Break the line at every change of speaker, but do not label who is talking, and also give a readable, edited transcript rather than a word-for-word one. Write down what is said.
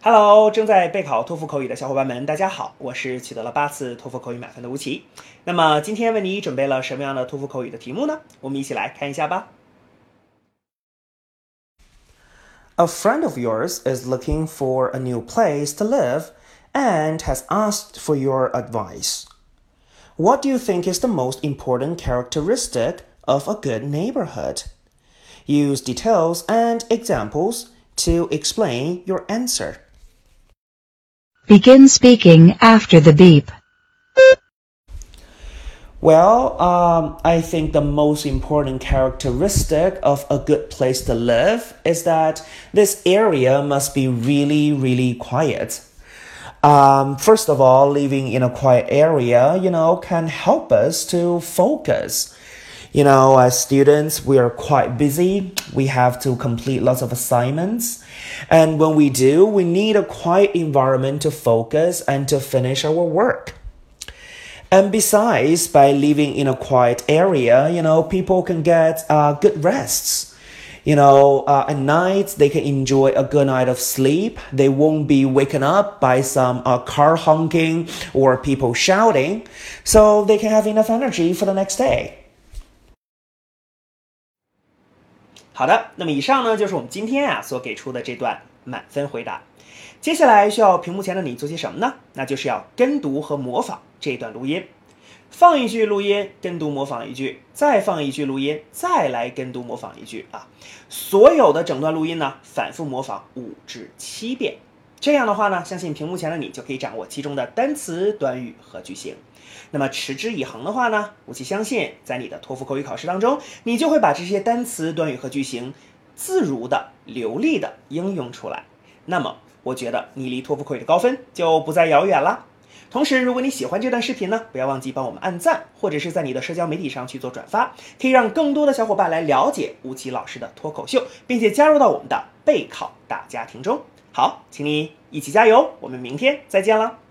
Hello，正在备考托福口语的小伙伴们，大家好，我是取得了8次托福口语满分的吴奇。那么今天为你准备了什么样的托福口语的题目呢？我们一起来看一下吧。A friend of yours is looking for a new place to live and has asked for your advice. What do you think is the most important characteristic of a good neighborhood? Use details and examples to explain your answer.
Begin speaking after the beep.
Well, I think the most important characteristic of a good place to live is that this area must be really, really quiet. First of all, living in a quiet area, can help us to focus. As students, we are quite busy. We have to complete lots of assignments. And when we do, we need a quiet environment to focus and to finish our work. And besides, by living in a quiet area, people can get good rests. At night, they can enjoy a good night of sleep. They won't be waken up by some car honking or people shouting. So they can have enough energy for the next day. 好的，那么以上呢就是我们今天所给出的这段满分回答。接下来需要屏幕前的你做些什么呢？那就是要跟读和模仿这段录音。放一句录音，跟读模仿一句，再放一句录音，再来跟读模仿一句啊。所有的整段录音呢，反复模仿5至7遍。这样的话呢，相信屏幕前的你就可以掌握其中的单词、短语和句型。那么持之以恒的话呢，吴奇相信在你的托福口语考试当中，你就会把这些单词、短语和句型自如的、流利的应用出来。那么我觉得你离托福口语的高分就不再遥远了。同时，如果你喜欢这段视频呢，不要忘记帮我们按赞，或者是在你的社交媒体上去做转发，可以让更多的小伙伴来了解吴奇老师的脱口秀，并且加入到我们的备考大家庭中。好，请你一起加油，我们明天再见了。